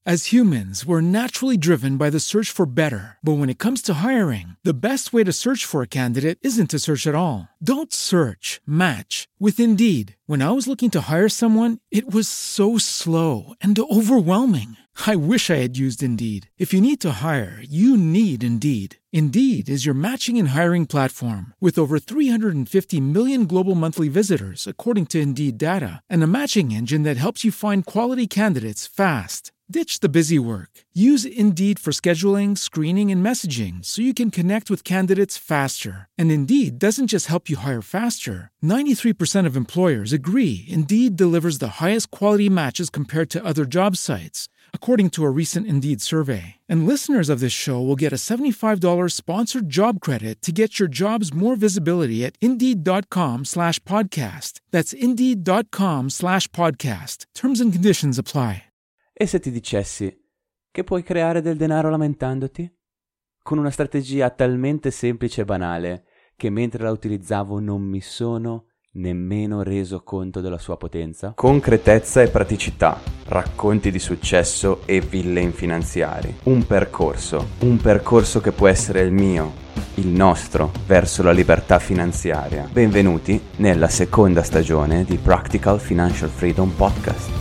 As humans, we're naturally driven by the search for better. But when it comes to hiring, the best way to search for a candidate isn't to search at all. Don't search, match with Indeed. When I was looking to hire someone, it was so slow and overwhelming. I wish I had used Indeed. If you need to hire, you need Indeed. Indeed is your matching and hiring platform with over 350 million global monthly visitors, according to Indeed data, and a matching engine that helps you find quality candidates fast. Ditch the busy work. Use Indeed for scheduling, screening, and messaging so you can connect with candidates faster. And Indeed doesn't just help you hire faster. 93% of employers agree Indeed delivers the highest quality matches compared to other job sites, according to a recent Indeed survey. And listeners of this show will get a $75 sponsored job credit to get your jobs more visibility at Indeed.com/podcast. That's Indeed.com/podcast. Terms and conditions apply. E se ti dicessi che puoi creare del denaro lamentandoti? Con una strategia talmente semplice e banale che mentre la utilizzavo non mi sono nemmeno reso conto della sua potenza? Concretezza e praticità, racconti di successo e villain finanziari. Un percorso che può essere il mio, il nostro, verso la libertà finanziaria. Benvenuti nella seconda stagione di Practical Financial Freedom Podcast.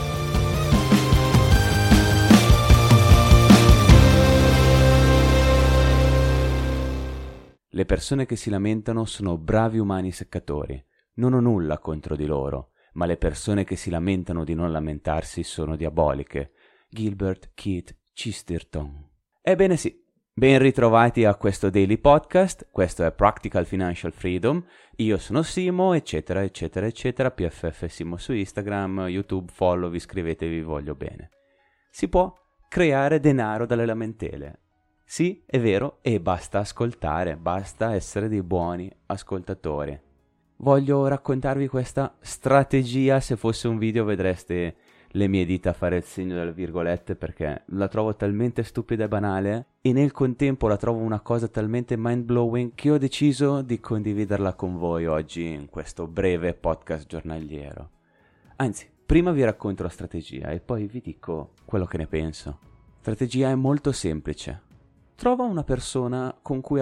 Le persone che si lamentano sono bravi umani seccatori. Non ho nulla contro di loro, ma le persone che si lamentano di non lamentarsi sono diaboliche. Gilbert Keith Chesterton. Ebbene sì, ben ritrovati a questo Daily Podcast. Questo è Practical Financial Freedom. Io sono Simo, eccetera, eccetera, eccetera. PFF Simo su Instagram, YouTube, follow, vi iscrivete, vi voglio bene. Si può creare denaro dalle lamentele. Sì, è vero, e basta ascoltare, basta essere dei buoni ascoltatori. Voglio raccontarvi questa strategia. Se fosse un video vedreste le mie dita fare il segno delle virgolette perché la trovo talmente stupida e banale e nel contempo la trovo una cosa talmente mind-blowing che ho deciso di condividerla con voi oggi in questo breve podcast giornaliero. Anzi, prima vi racconto la strategia e poi vi dico quello che ne penso. La strategia è molto semplice. Trova una persona con cui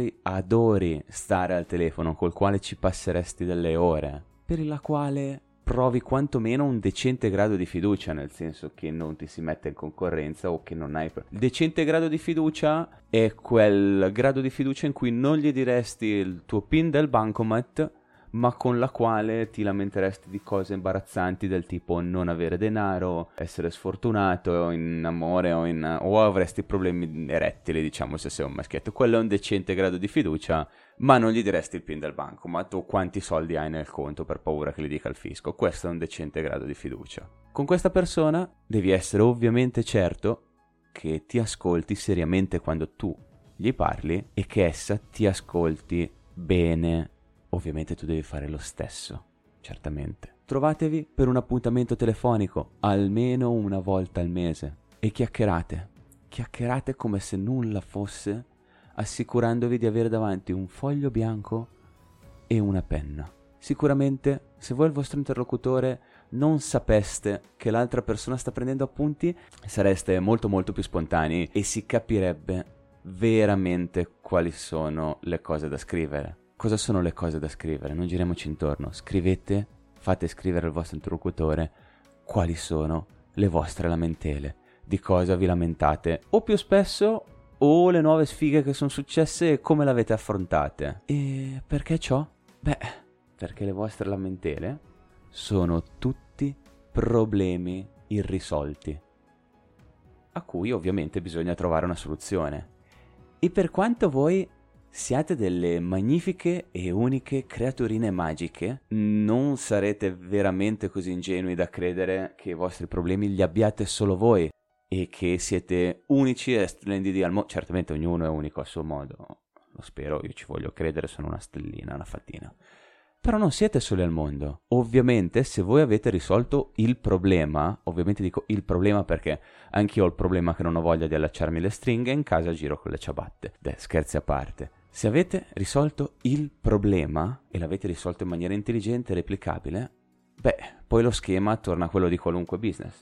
adori stare al telefono, col quale ci passeresti delle ore, per la quale provi quantomeno un decente grado di fiducia, nel senso che non ti si mette in concorrenza o che non hai... Il decente grado di fiducia è quel grado di fiducia in cui non gli diresti il tuo PIN del bancomat, ma con la quale ti lamenteresti di cose imbarazzanti del tipo non avere denaro, essere sfortunato in amore o avresti problemi erettili, diciamo, se sei un maschietto. Quello è un decente grado di fiducia, ma non gli diresti il PIN del bancomat o quanti soldi hai nel conto per paura che li dica il fisco. Questo è un decente grado di fiducia. Con questa persona devi essere ovviamente certo che ti ascolti seriamente quando tu gli parli e che essa ti ascolti bene. Ovviamente tu devi fare lo stesso, certamente. Trovatevi per un appuntamento telefonico almeno una volta al mese e chiacchierate. Chiacchierate come se nulla fosse, assicurandovi di avere davanti un foglio bianco e una penna. Sicuramente, se voi il vostro interlocutore non sapeste che l'altra persona sta prendendo appunti, sareste molto molto più spontanei e si capirebbe veramente quali sono le cose da scrivere. Cosa sono le cose da scrivere? Non giriamoci intorno. Scrivete, fate scrivere al vostro interlocutore quali sono le vostre lamentele, di cosa vi lamentate, o più spesso, o le nuove sfighe che sono successe e come le avete affrontate. E perché ciò? Beh, perché le vostre lamentele sono tutti problemi irrisolti, a cui ovviamente bisogna trovare una soluzione. E per quanto voi siate delle magnifiche e uniche creaturine magiche, non sarete veramente così ingenui da credere che i vostri problemi li abbiate solo voi e che siete unici e splendidi al mondo. Certamente ognuno è unico a suo modo, lo spero, io ci voglio credere, sono una stellina, una fatina. Però non siete soli al mondo. Ovviamente se voi avete risolto il problema, ovviamente dico il problema perché anch'io ho il problema che non ho voglia di allacciarmi le stringhe e in casa giro con le ciabatte. Scherzi a parte. Se avete risolto il problema e l'avete risolto in maniera intelligente e replicabile, beh, poi lo schema torna a quello di qualunque business.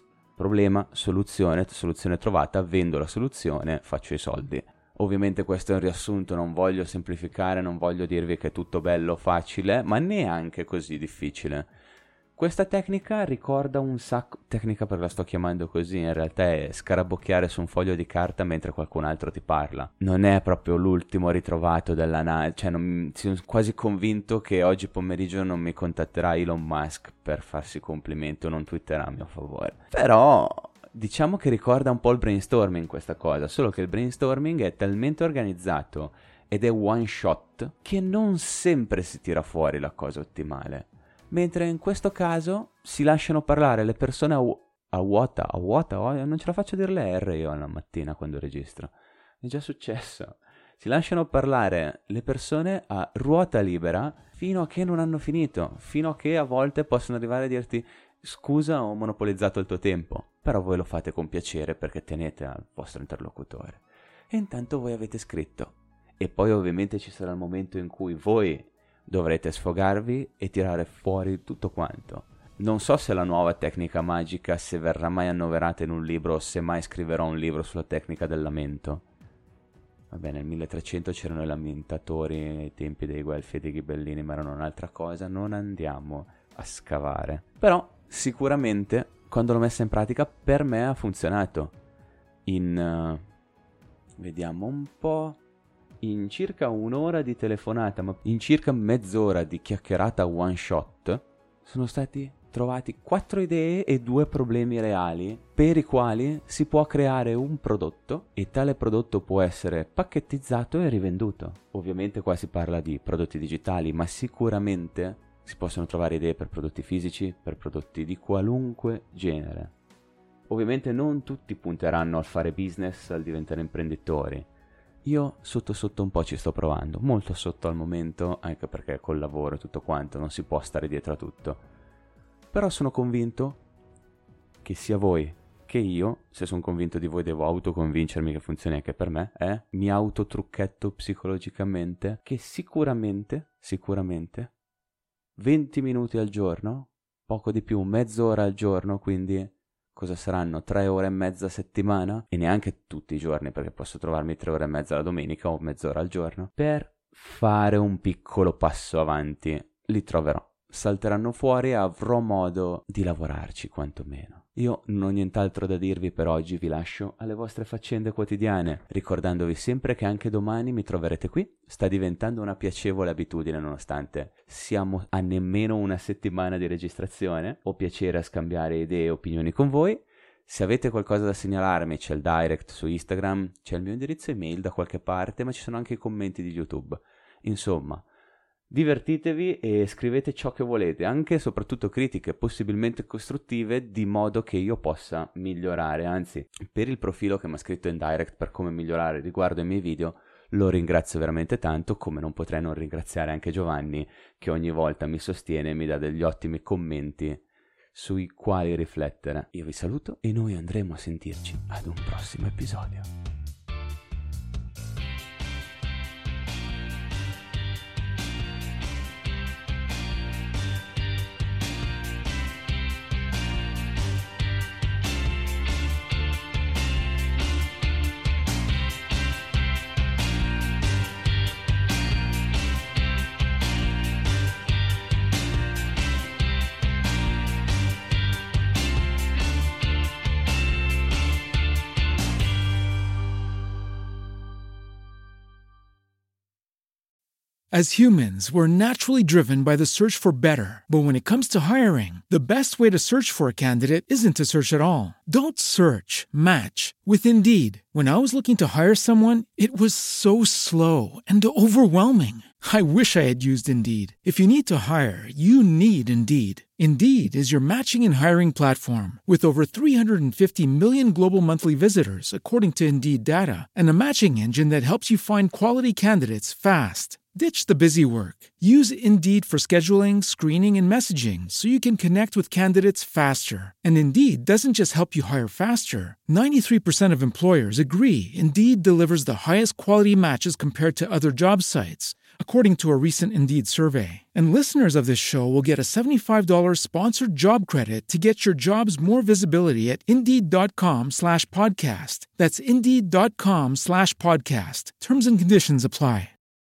problema, soluzione trovata, vendo la soluzione, faccio i soldi. Ovviamente questo è un riassunto, non voglio semplificare, non voglio dirvi che è tutto bello, facile, ma neanche così difficile. Questa tecnica ricorda un sacco, tecnica perché la sto chiamando così, in realtà è scarabocchiare su un foglio di carta mentre qualcun altro ti parla. Non è proprio l'ultimo ritrovato della NASA, cioè sono quasi convinto che oggi pomeriggio non mi contatterà Elon Musk per farsi complimenti o non twitterà a mio favore. Però diciamo che ricorda un po' il brainstorming questa cosa, solo che il brainstorming è talmente organizzato ed è one shot che non sempre si tira fuori la cosa ottimale. Mentre in questo caso si lasciano parlare le persone a vuota, non ce la faccio a dire le R io la mattina quando registro, è già successo. Si lasciano parlare le persone a ruota libera fino a che non hanno finito, fino a che a volte possono arrivare a dirti scusa ho monopolizzato il tuo tempo, però voi lo fate con piacere perché tenete al vostro interlocutore. E intanto voi avete scritto. E poi ovviamente ci sarà il momento in cui voi dovrete sfogarvi e tirare fuori tutto quanto. Non so se la nuova tecnica magica, se verrà mai annoverata in un libro o se mai scriverò un libro sulla tecnica del lamento. Vabbè, nel 1300 c'erano i lamentatori ai tempi dei Guelfi e dei Ghibellini, ma erano un'altra cosa, non andiamo a scavare. Però sicuramente quando l'ho messa in pratica per me ha funzionato. Vediamo un po'. In circa un'ora di telefonata, ma in circa mezz'ora di chiacchierata one shot, sono stati trovati 4 idee e 2 problemi reali per i quali si può creare un prodotto e tale prodotto può essere pacchettizzato e rivenduto. Ovviamente qua si parla di prodotti digitali, ma sicuramente si possono trovare idee per prodotti fisici, per prodotti di qualunque genere. Ovviamente non tutti punteranno al fare business, al diventare imprenditori. Io sotto un po' ci sto provando, molto sotto al momento, anche perché col lavoro e tutto quanto non si può stare dietro a tutto. Però sono convinto che sia voi che io, se sono convinto di voi devo autoconvincermi che funzioni anche per me, mi autotrucchetto psicologicamente, che sicuramente, 20 minuti al giorno, poco di più, mezz'ora al giorno, quindi cosa saranno 3 ore e mezza a settimana, e neanche tutti i giorni perché posso trovarmi 3 ore e mezza la domenica o mezz'ora al giorno, per fare un piccolo passo avanti. Li troverò, salteranno fuori e avrò modo di lavorarci quantomeno. Io non ho nient'altro da dirvi per oggi, vi lascio alle vostre faccende quotidiane, ricordandovi sempre che anche domani mi troverete qui. Sta diventando una piacevole abitudine nonostante siamo a nemmeno una settimana di registrazione. Ho piacere a scambiare idee e opinioni con voi. Se avete qualcosa da segnalarmi c'è il direct su Instagram, c'è il mio indirizzo email da qualche parte, ma ci sono anche i commenti di YouTube. Insomma, divertitevi e scrivete ciò che volete, anche e soprattutto critiche possibilmente costruttive, di modo che io possa migliorare. Anzi, per il profilo che mi ha scritto in direct per come migliorare riguardo ai miei video, lo ringrazio veramente tanto, come non potrei non ringraziare anche Giovanni, che ogni volta mi sostiene e mi dà degli ottimi commenti sui quali riflettere. Io vi saluto e noi andremo a sentirci ad un prossimo episodio. As humans, we're naturally driven by the search for better. But when it comes to hiring, the best way to search for a candidate isn't to search at all. Don't search, match with Indeed. When I was looking to hire someone, it was so slow and overwhelming. I wish I had used Indeed. If you need to hire, you need Indeed. Indeed is your matching and hiring platform with over 350 million global monthly visitors, according to Indeed data, and a matching engine that helps you find quality candidates fast. Ditch the busy work. Use Indeed for scheduling, screening, and messaging so you can connect with candidates faster. And Indeed doesn't just help you hire faster. 93% of employers agree Indeed delivers the highest quality matches compared to other job sites, according to a recent Indeed survey. And listeners of this show will get a $75 sponsored job credit to get your jobs more visibility at Indeed.com/podcast. That's Indeed.com/podcast. Terms and conditions apply.